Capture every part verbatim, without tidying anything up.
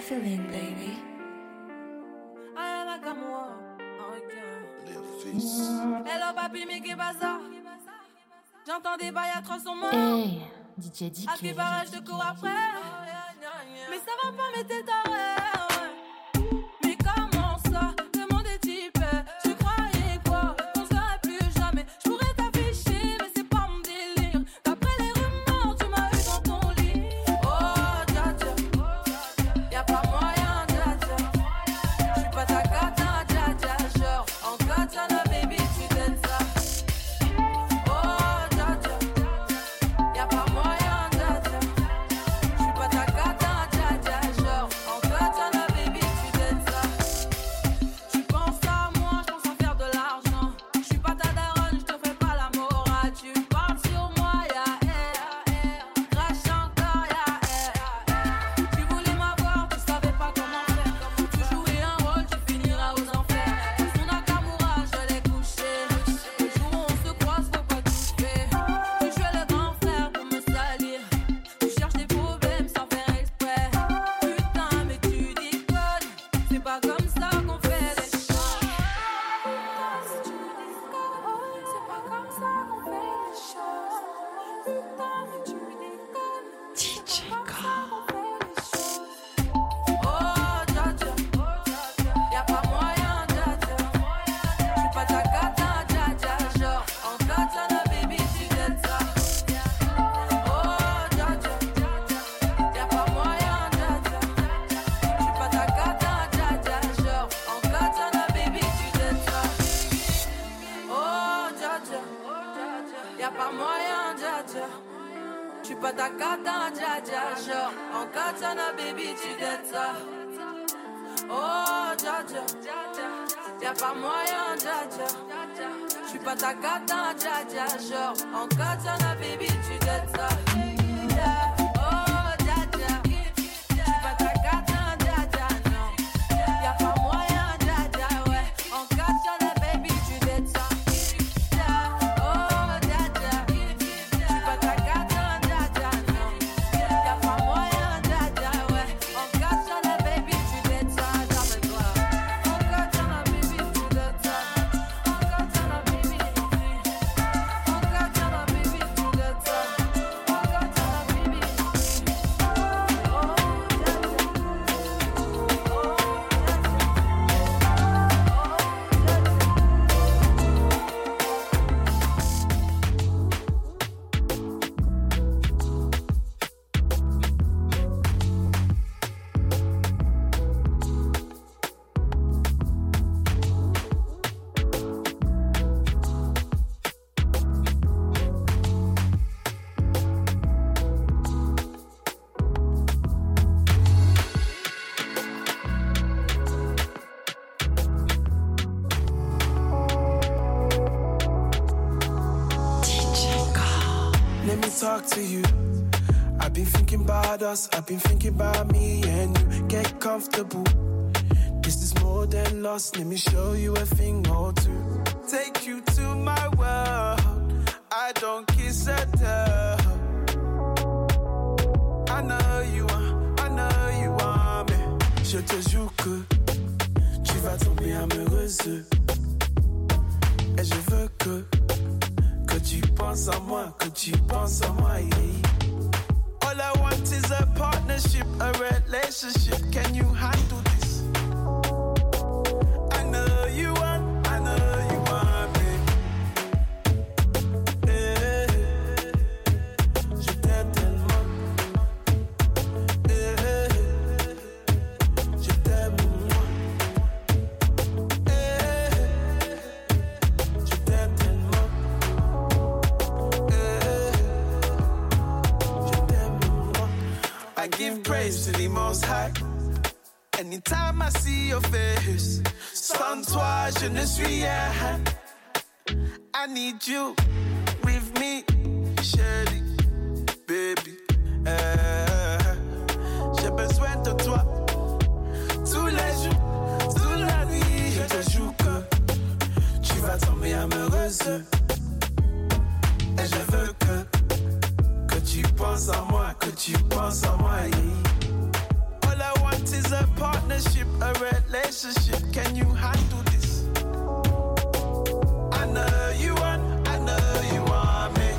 feeling, baby? Hello papi, mais qu'est bazar? J'entends des bails à trois cents morts. Hey, D J D K. À qui barrage de cours après? Mais ça va pas, mais t'es taré. Mais comment ça? Le monde est type. Tu croyais quoi? Qu'on serait plus jamais. Je pourrais t'afficher, mais c'est pas mon délire. D'après les rumeurs, tu m'as eu dans ton lit. Oh, dja dja. Y'a pas moyen, dja dja. J'suis pas ta cata, dja dja. Genre, en katana, baby, tu t'aides ça. Oh, dja dja. Y'a pas moyen, dja dja. J'suis pas ta cata, dja dja. Genre, en katana, baby, tu t'aides ça. Tu penses à moi, j'pense à faire de l'argent. J'suis pas ta daronne, j'te fais pas la morale. Tu parles sur moi, ya air. Crache encore, ya air. Tu voulais m'avoir, tu savais pas comment faire. Tu jouais un rôle, tu finiras aux enfers. Son Nakamura, je l'ai couché. Le jour où on se croise, faut pas tout faire. Tu jouais le grand frère pour me salir. Tu cherches des problèmes sans faire exprès. Putain, mais tu déconnes. C'est pas comme ça qu'on fait les choses. Putain, si tu déconnes. C'est pas comme ça qu'on fait les choses. Putain, mais tu déconnes. D J K. Oh, dja dja. Y'a pas moyen, dja dja. J'suis pas ta cata, dja dja. Genre, en katana, baby, tu t'aides ça. Oh, dja dja. Y'a pas moyen, dja dja. J'suis pas ta cata, dja dja. Genre, en katana, baby, tu t'aides ça. Oh, dja dja. Y'a pas moyen, dja dja. J'suis pas ta cata, dja dja. Genre, en katana, baby, tu t'aides ça. Oh, dja dja. Y'a pas moyen, dja dja. J'suis pas ta cata, dja dja. Genre, en katana, baby, tu t'aides ça. Oh, dja dja. J'suis pas ta cata, dja dja, non. Y'a pas moyen, dja dja, ouais. En katana, baby, tu t'aides ça. Oh, dja dja. J'suis pas ta cata, dja dja, non. Y'a pas moyen, dja dja, ouais. En katana, baby, tu t'aides ça. Rappelle-toi. En katana, baby, tu t'aides ça. En katana, baby. En katana, baby, tu t'aides ça. En katana, baby. Let me talk to you. I've been thinking about us, I've been thinking about me and you. Get comfortable. This is more than lost. Let me show you a thing or two. Take you to my world. I don't kiss a tell. I know you want, I know you want me. Je te jure que tu vas tomber amoureuse. Et je veux que Que tu penses à moi, que tu penses à moi, yeah. All I want is a partnership, a relationship. Can you handle this? I know you want, I know you want me. Yeah. Je t'aime tellement. Yeah. Je t'aime moi. Yeah. Je t'aime tellement. I give praise to the Most High. Anytime I see your face, sans toi je ne suis rien. I need you with me, chérie, baby. Euh, j'ai besoin de toi tous les jours, toute la nuit. Je te jure que tu vas tomber amoureuse. Et je veux que que tu penses à moi, que tu penses à moi, yeah. All I want is a partnership, a relationship. Can you handle this? I know you want, I know you want me.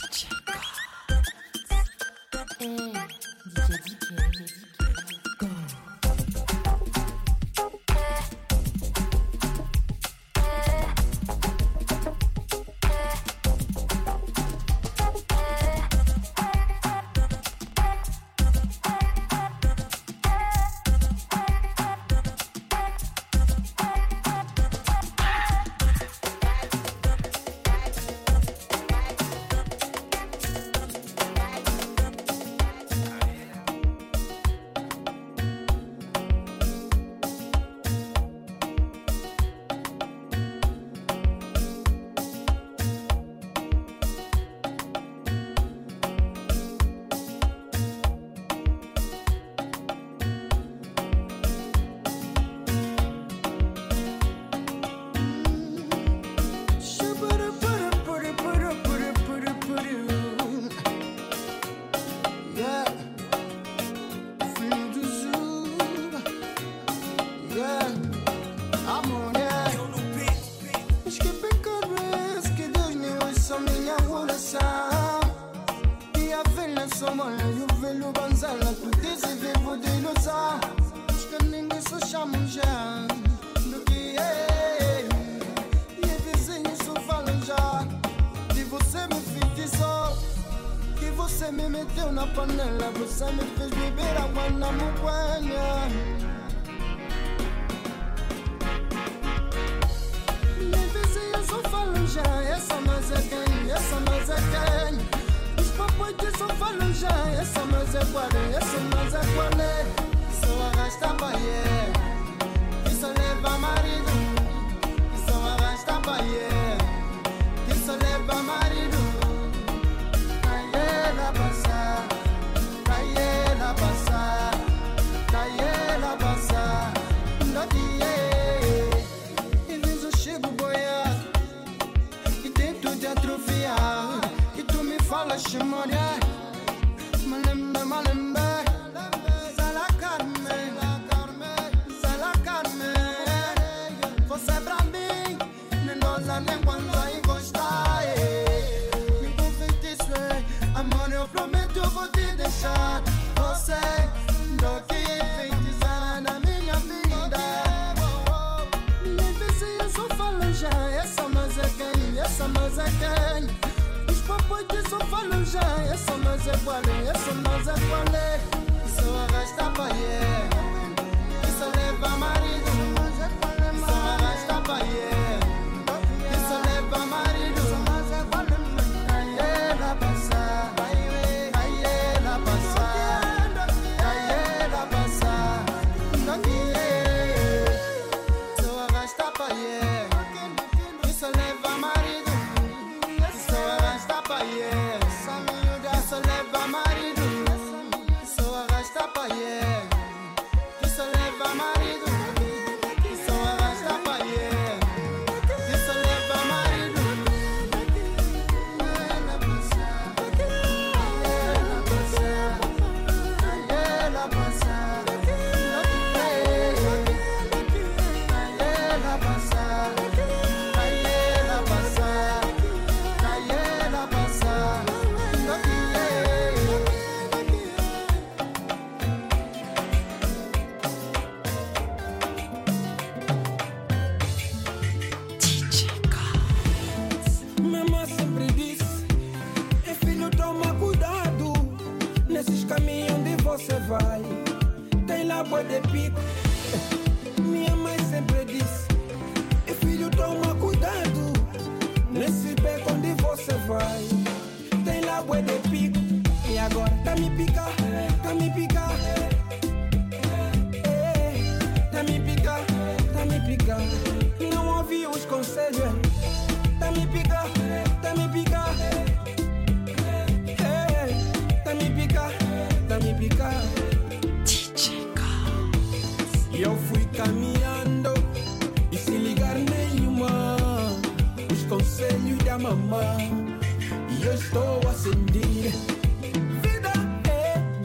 mamá, e eu estou a sentir vida, é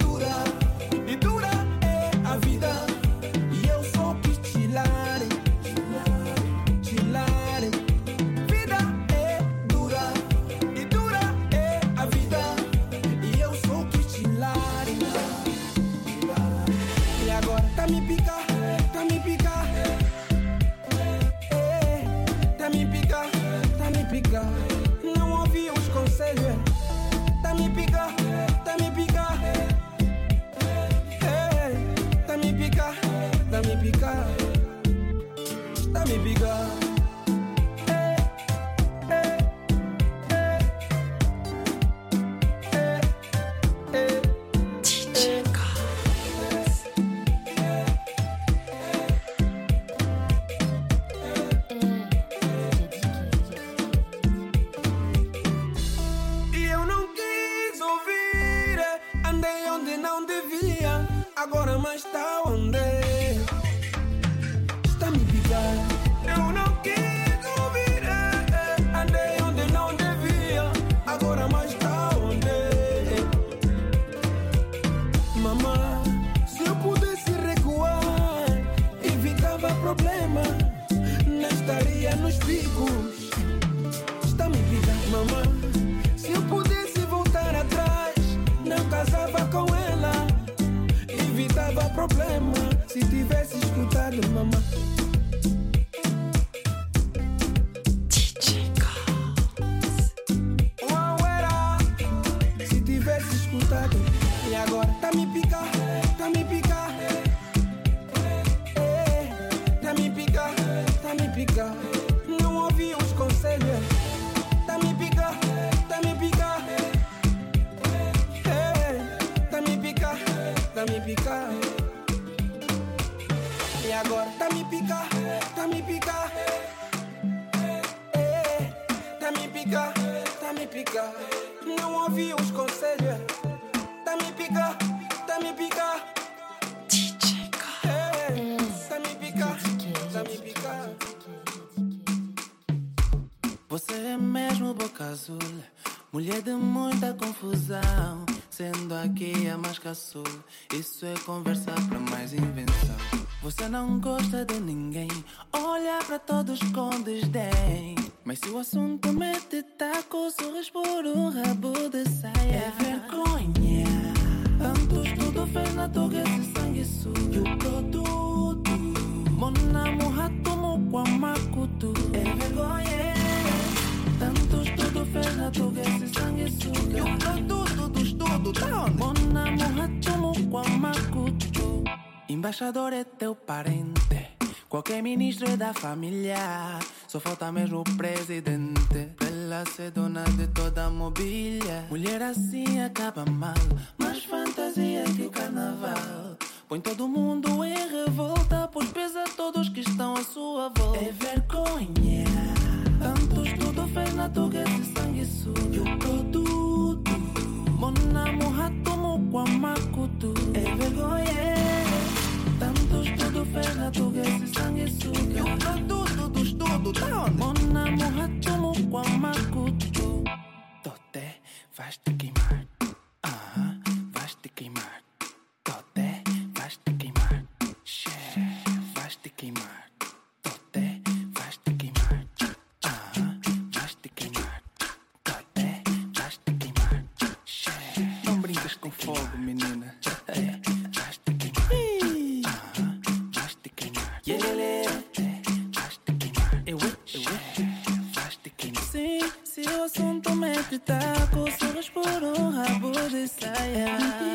problema se tivesse escutado mamãe. D J Goss. Uau, era se tivesse escutado. E agora tá me picar, tá me picar. É, tá me picar, tá me picar. Não ouvi os conselhos. Tá me picar, tá me picar. É, tá me picar, tá me picar. E agora tá me picar, tá me picar. É, tá me picar, tá me picar. Não ouvi os conselhos. Tá me picar, tá me picar. D J Goss. É, tá me picar, tá me picar. Você é mesmo boca azul, mulher de muita confusão. Sendo aqui a mais caçul, isso é conversa pra mais invenção. Você não gosta de ninguém, olha pra todos com desdém. Mas se o assunto mete taco, sorris por um rabo de saia. É vergonha, tanto estudo fez na toga esse sangue sujo. E o produto, monamo ratomo com a macutu. É vergonha, tanto estudo fez na toga esse sangue sujo. E o produto do estudo, tá onde? Monamo ratomo com a macutu. Embaixador é teu parente, qualquer ministro é da família. Só falta mesmo o presidente pra ela ser dona de toda a mobília. Mulher assim acaba mal, mais fantasia que o carnaval. Põe todo mundo em revolta, pois pesa todos que estão à sua volta. É vergonha, tanto estudo fez na toga esse sangue sujo. E o produto, monamo ratomo com a macutu. É vergonha, tanto estudo fez na toga esse sangue sujo. E o produto do estudo, tá onde? Monamo ratomo com a macutu. Toté, vais te queimar. Aham, vais te queimar. Toté, vais te queimar. Xé, vais te queimar. Toté, vais te queimar. Aham, vais te queimar. Toté, vais te queimar. Xé, não brincas com fogo, menina. É, vais te queimar. Aham, vais te queimar. Yeah, vais te queimar. Eu, eu, vais te queimar. Sim, se o assunto mete taco, sorris por um rabo de saia.